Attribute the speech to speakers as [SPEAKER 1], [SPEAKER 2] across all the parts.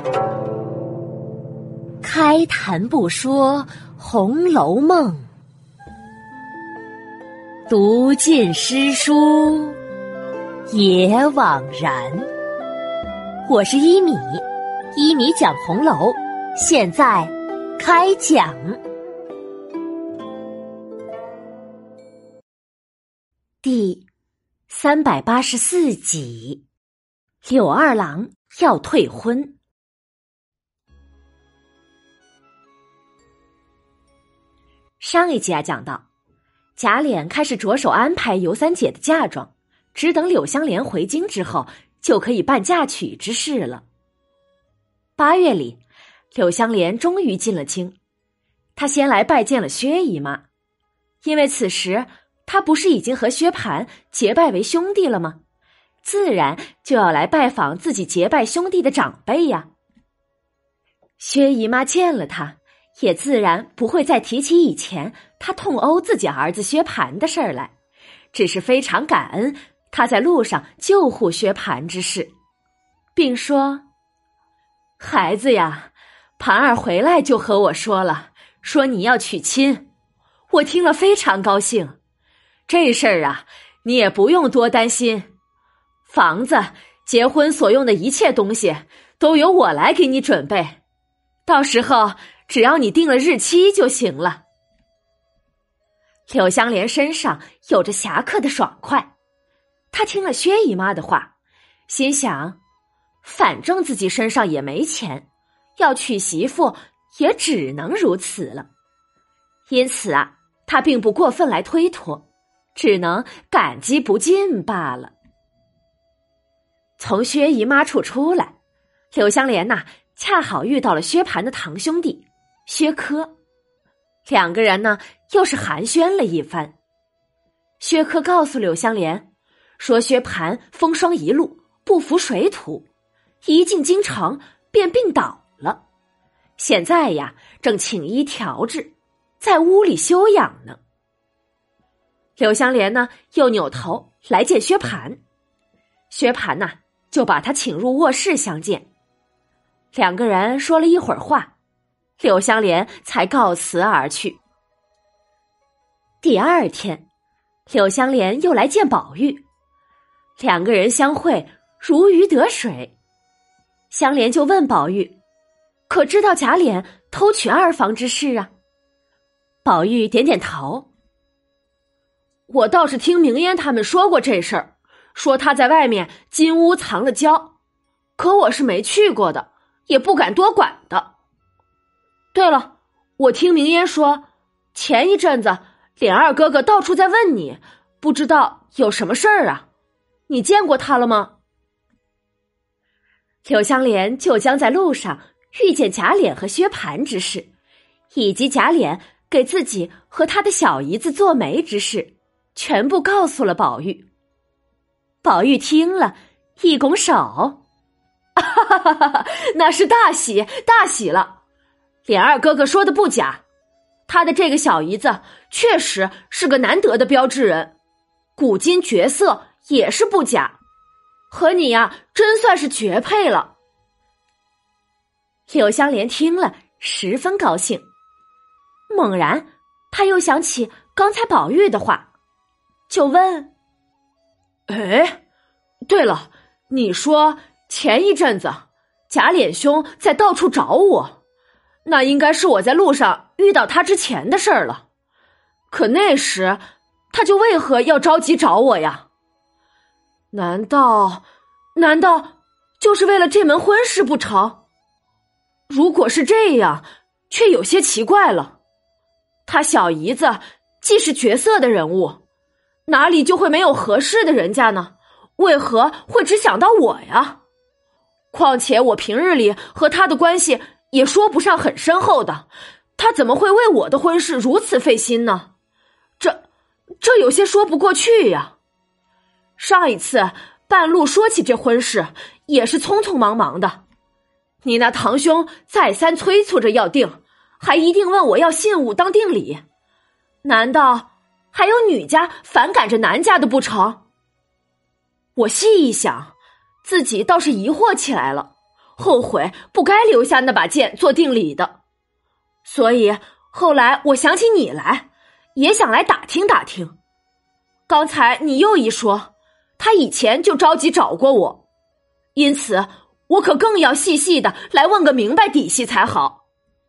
[SPEAKER 1] 开谈不说《红楼梦》，读尽诗书也枉然。我是一米，一米讲红楼，现在开讲。第384集，柳二郎要退婚。上一集讲到，贾琏开始着手安排尤三姐的嫁妆，只等柳湘莲回京之后，就可以办嫁娶之事了。8月里，柳湘莲终于进了京，她先来拜见了薛姨妈，因为此时她不是已经和薛蟠结拜为兄弟了吗？自然就要来拜访自己结拜兄弟的长辈呀。薛姨妈见了她，也自然不会再提起以前他痛殴自己儿子薛蟠的事儿来，只是非常感恩他在路上救护薛蟠之事，并说：孩子呀，蟠儿回来就和我说了，说你要娶亲，我听了非常高兴。这事儿啊，你也不用多担心，房子、结婚所用的一切东西都由我来给你准备，到时候只要你定了日期就行了。柳湘莲身上有着侠客的爽快，她听了薛姨妈的话，心想，反正自己身上也没钱，要娶媳妇也只能如此了。因此啊，她并不过分来推脱，只能感激不尽罢了。从薛姨妈处出来，柳湘莲恰好遇到了薛蟠的堂兄弟薛科，两个人又是寒暄了一番。薛科告诉柳湘莲说，薛蟠风霜一路，不服水土，一进京城便病倒了，现在呀正请医调治，在屋里休养呢。柳湘莲又扭头来见薛蟠，薛蟠就把他请入卧室相见。两个人说了一会儿话，柳湘莲才告辞而去。第二天，柳湘莲又来见宝玉，两个人相会如鱼得水。湘莲就问宝玉，可知道贾琏偷取二房之事啊？宝玉点点头，我倒是听明烟他们说过这事儿，说他在外面金屋藏了娇，可我是没去过的，也不敢多管的。对了，我听明烟说，前一阵子琏二哥哥到处在问你，不知道有什么事儿啊？你见过他了吗？柳湘莲就将在路上遇见贾琏和薛蟠之事，以及贾琏给自己和他的小姨子做媒之事，全部告诉了宝玉。宝玉听了，一拱手，哈哈哈，那是大喜大喜了。琏二哥哥说的不假，他的这个小姨子确实是个难得的标致人，古今绝色也是不假，和你真算是绝配了。柳湘莲听了十分高兴，猛然他又想起刚才宝玉的话，就问，对了，你说前一阵子贾琏兄在到处找我，那应该是我在路上遇到他之前的事儿了，可那时他就为何要着急找我呀？难道就是为了这门婚事不成？如果是这样，却有些奇怪了。他小姨子既是绝色的人物，哪里就会没有合适的人家呢？为何会只想到我呀？况且我平日里和他的关系也说不上很深厚的，他怎么会为我的婚事如此费心呢？这有些说不过去呀。上一次半路说起这婚事，也是匆匆忙忙的，你那堂兄再三催促着要定，还一定问我要信物当定礼，难道还有女家反赶着男家的不成？我细一想，自己倒是疑惑起来了， 后悔不该留下那把剑做定礼的。所以后来我想起你来，也想来打听打听。刚才你又一说，他以前就着急找过我，因此我可更要细细的来问个明白底细才好。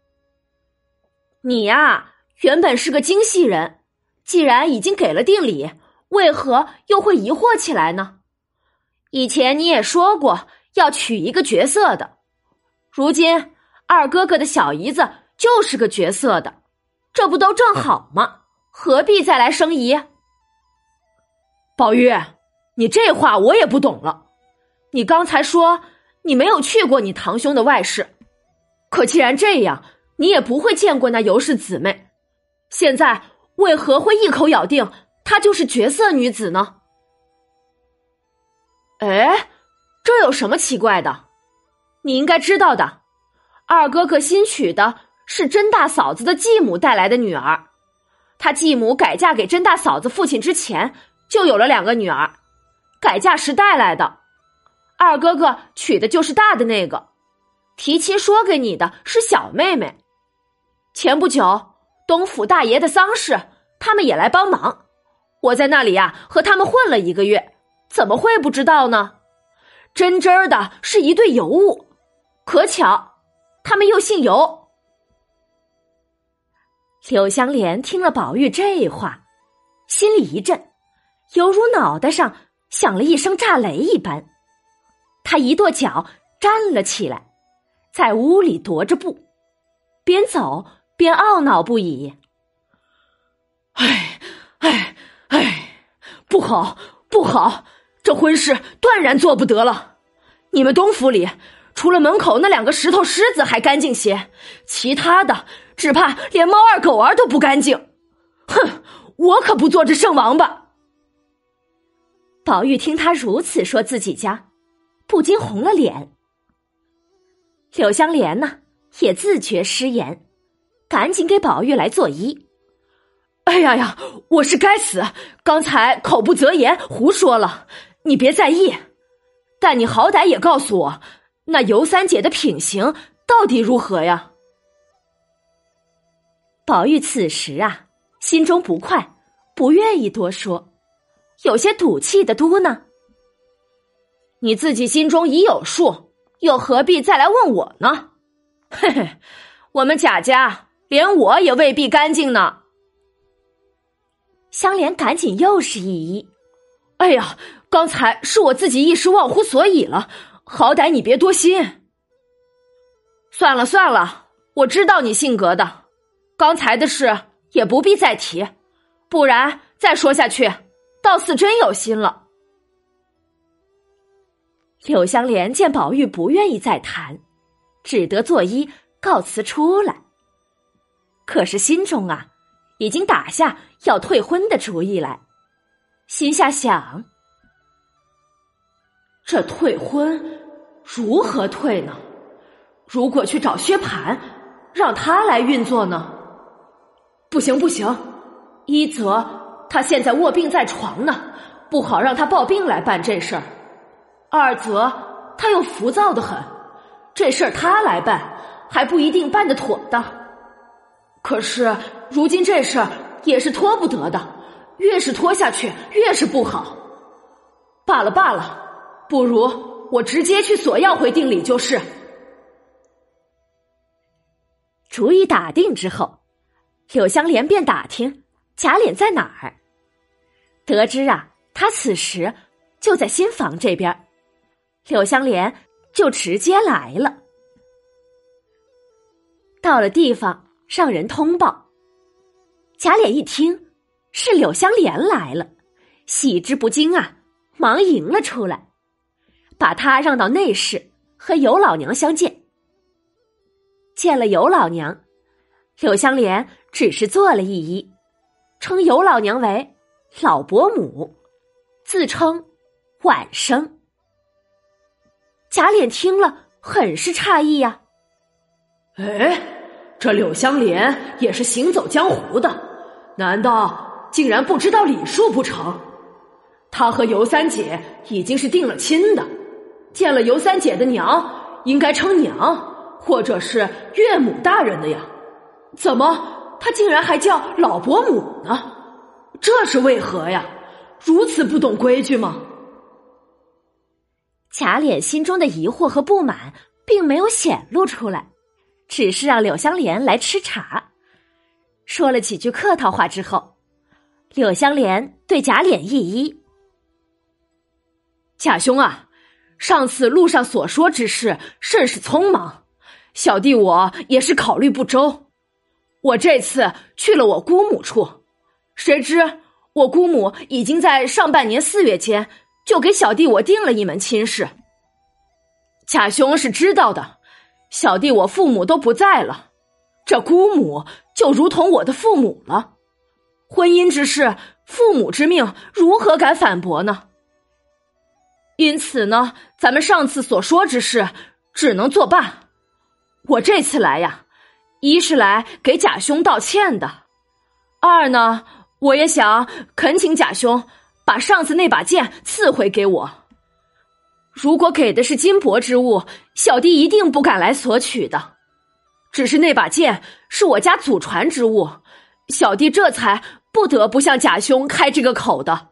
[SPEAKER 1] 你呀，原本是个精细人，既然已经给了定礼，为何又会疑惑起来呢？以前你也说过要娶一个绝色的，如今二哥哥的小姨子就是个绝色的，这不都正好吗？何必再来生疑？宝玉，你这话我也不懂了。你刚才说你没有去过你堂兄的外室，可既然这样，你也不会见过那尤氏姊妹，现在为何会一口咬定她就是绝色女子呢？哎，这有什么奇怪的？你应该知道的，二哥哥新娶的是甄大嫂子的继母带来的女儿，他继母改嫁给甄大嫂子父亲之前就有了2个女儿，改嫁时带来的。二哥哥娶的就是大的那个，提亲说给你的是小妹妹。前不久东府大爷的丧事，他们也来帮忙，我在那里呀和他们混了1个月，怎么会不知道呢？真真的是一对尤物，可巧他们又姓尤。柳湘莲听了宝玉这话，心里一震，犹如脑袋上响了一声炸雷一般。他一跺脚站了起来，在屋里踱着步，边走边懊恼不已。不好不好，这婚事断然做不得了。你们东府里除了门口那2个石头狮子还干净些，其他的只怕连猫儿狗儿都不干净。哼，我可不做这圣王八。宝玉听他如此说自己家，不禁红了脸。柳湘莲呢，也自觉失言，赶紧给宝玉来作揖。哎呀，我是该死，刚才口不择言胡说了，你别在意。但你好歹也告诉我，那尤三姐的品行到底如何呀？宝玉此时啊，心中不快，不愿意多说，有些赌气的嘟囔：你自己心中已有数，又何必再来问我呢？嘿嘿，我们贾家连我也未必干净呢。香莲赶紧又是一揖：哎呀，刚才是我自己一时忘乎所以了，好歹你别多心。算了算了，我知道你性格的，刚才的事也不必再提，不然再说下去倒似真有心了。柳湘莲见宝玉不愿意再谈，只得作揖告辞出来。可是心中啊，已经打下要退婚的主意来，心下想：这退婚如何退呢？如果去找薛蟠，让他来运作呢？不行不行，一则他现在卧病在床呢，不好让他抱病来办这事儿；二则他又浮躁得很，这事儿他来办还不一定办得妥当。可是如今这事儿也是拖不得的，越是拖下去越是不好。罢了罢了，不如我直接去索要回定礼就是。主意打定之后，柳湘莲便打听贾琏在哪儿。得知啊，他此时就在新房这边，柳湘莲就直接来了。到了地方，让人通报。贾琏一听是柳湘莲来了，喜之不惊啊，忙迎了出来，把他让到内室和尤老娘相见。见了尤老娘，柳湘莲只是做了一揖，称尤老娘为老伯母，自称晚生。贾琏听了很是诧异呀。哎，这柳湘莲也是行走江湖的，难道竟然不知道礼数不成？他和尤三姐已经是定了亲的，见了尤三姐的娘
[SPEAKER 2] 应该称娘或者是岳母大人的呀，怎么他竟然还叫老伯母呢？这是为何呀？如此不懂规矩吗？
[SPEAKER 1] 贾琏心中的疑惑和不满并没有显露出来，只是让柳湘莲来吃茶。说了几句客套话之后，柳湘莲对贾琏一揖：
[SPEAKER 2] 贾兄啊，上次路上所说之事甚是匆忙，小弟我也是考虑不周。我这次去了我姑母处，谁知我姑母已经在上半年4月间就给小弟我定了一门亲事。贾兄是知道的，小弟我父母都不在了，这姑母就如同我的父母了。婚姻之事，父母之命，如何敢反驳呢？因此呢，咱们上次所说之事只能作罢。我这次来呀，一是来给贾兄道歉的，二呢，我也想恳请贾兄把上次那把剑赐回给我。如果给的是金帛之物，小弟一定不敢来索取的。只是那把剑是我家祖传之物，小弟这才不得不向贾兄开这个口的。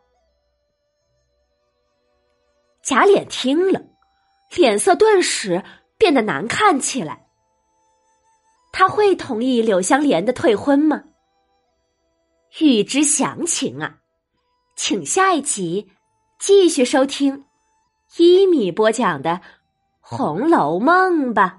[SPEAKER 1] 贾琏听了，脸色顿时变得难看起来。他会同意柳湘莲的退婚吗？欲知详情啊，请下一集继续收听一米播讲的《红楼梦》吧。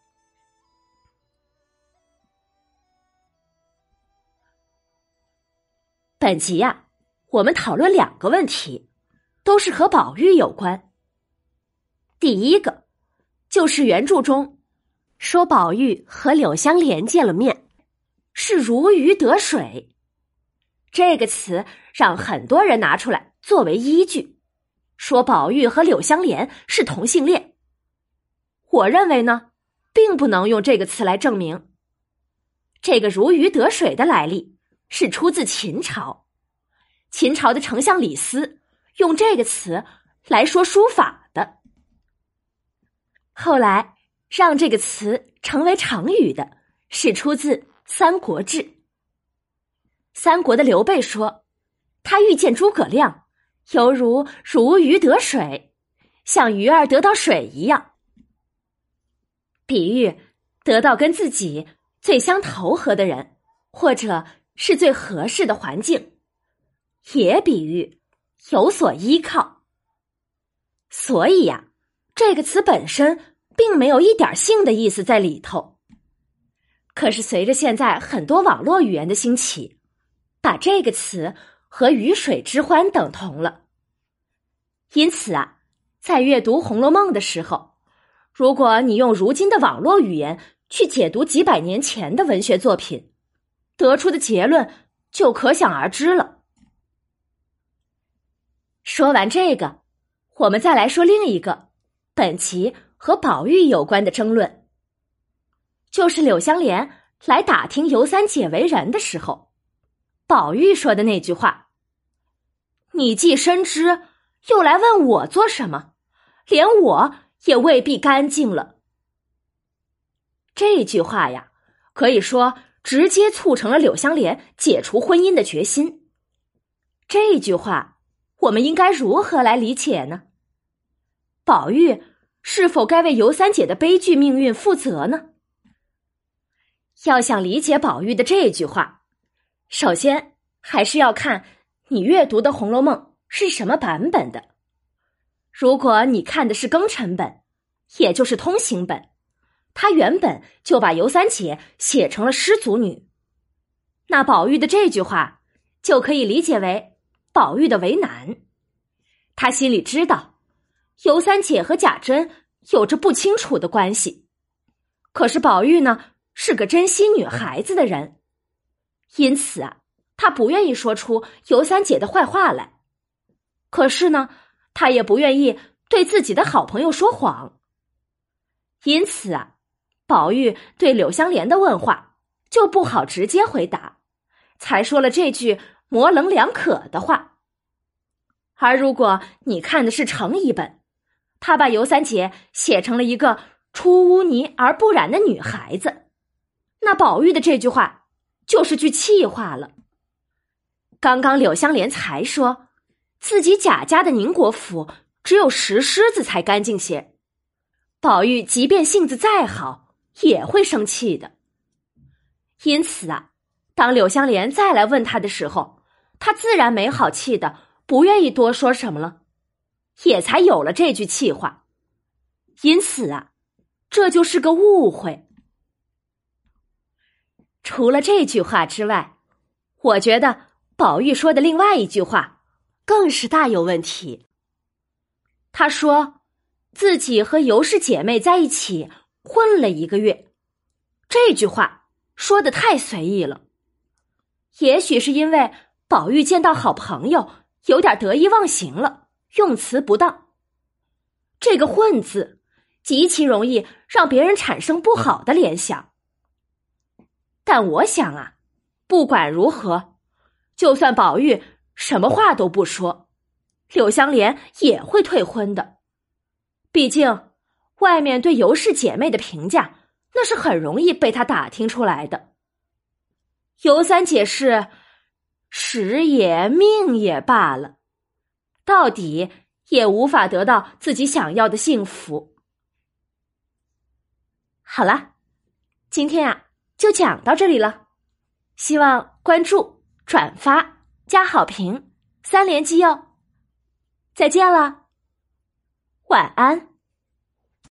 [SPEAKER 1] 本集啊，我们讨论2个问题，都是和宝玉有关。第一个就是原著中说宝玉和柳湘莲见了面，是如鱼得水。这个词让很多人拿出来作为依据，说宝玉和柳湘莲是同性恋。我认为呢，并不能用这个词来证明。这个如鱼得水的来历是出自秦朝，秦朝的丞相李斯用这个词来说书法的。后来让这个词成为成语的是出自《三国志》。三国的刘备说，他遇见诸葛亮，犹如鱼得水，像鱼儿得到水一样，比喻得到跟自己最相投合的人，或者是最合适的环境，也比喻有所依靠。所以呀，这个词本身并没有一点性的意思在里头。可是随着现在很多网络语言的兴起，把这个词和鱼水之欢等同了。因此啊，在阅读《红楼梦》的时候，如果你用如今的网络语言去解读几百年前的文学作品，得出的结论就可想而知了。说完这个，我们再来说另一个本集和宝玉有关的争论，就是柳湘莲来打听尤三姐为人的时候，宝玉说的那句话：你既深知，又来问我做什么？连我也未必干净了。这句话呀，可以说直接促成了柳湘莲解除婚姻的决心。这句话我们应该如何来理解呢？宝玉是否该为尤三姐的悲剧命运负责呢？要想理解宝玉的这句话，首先还是要看你阅读的《红楼梦》是什么版本的。如果你看的是庚辰本，也就是通行本，他原本就把尤三姐写成了失足女，那宝玉的这句话就可以理解为宝玉的为难。他心里知道尤三姐和贾珍有着不清楚的关系，可是宝玉呢，是个珍惜女孩子的人，因此啊，他不愿意说出尤三姐的坏话来。可是呢，他也不愿意对自己的好朋友说谎。因此啊，宝玉对柳湘莲的问话就不好直接回答，才说了这句模棱两可的话。而如果你看的是程乙本，他把尤三姐写成了一个出污泥而不染的女孩子。那宝玉的这句话就是句气话了。刚刚柳湘莲才说自己贾家的宁国府只有石狮子才干净些，宝玉即便性子再好也会生气的。因此啊，当柳湘莲再来问他的时候，他自然没好气的不愿意多说什么了，也才有了这句气话。因此啊，这就是个误会。除了这句话之外，我觉得宝玉说的另外一句话更是大有问题。他说自己和尤氏姐妹在一起混了1个月，这句话说得太随意了。也许是因为宝玉见到好朋友有点得意忘形了，用词不当。这个混字极其容易让别人产生不好的联想。但我想啊，不管如何，就算宝玉什么话都不说，柳湘莲也会退婚的。毕竟外面对尤氏姐妹的评价那是很容易被他打听出来的。尤三姐是时也命也罢了，到底也无法得到自己想要的幸福。好了，今天啊就讲到这里了，希望关注、转发、加好评，3连击哦。再见了，晚安。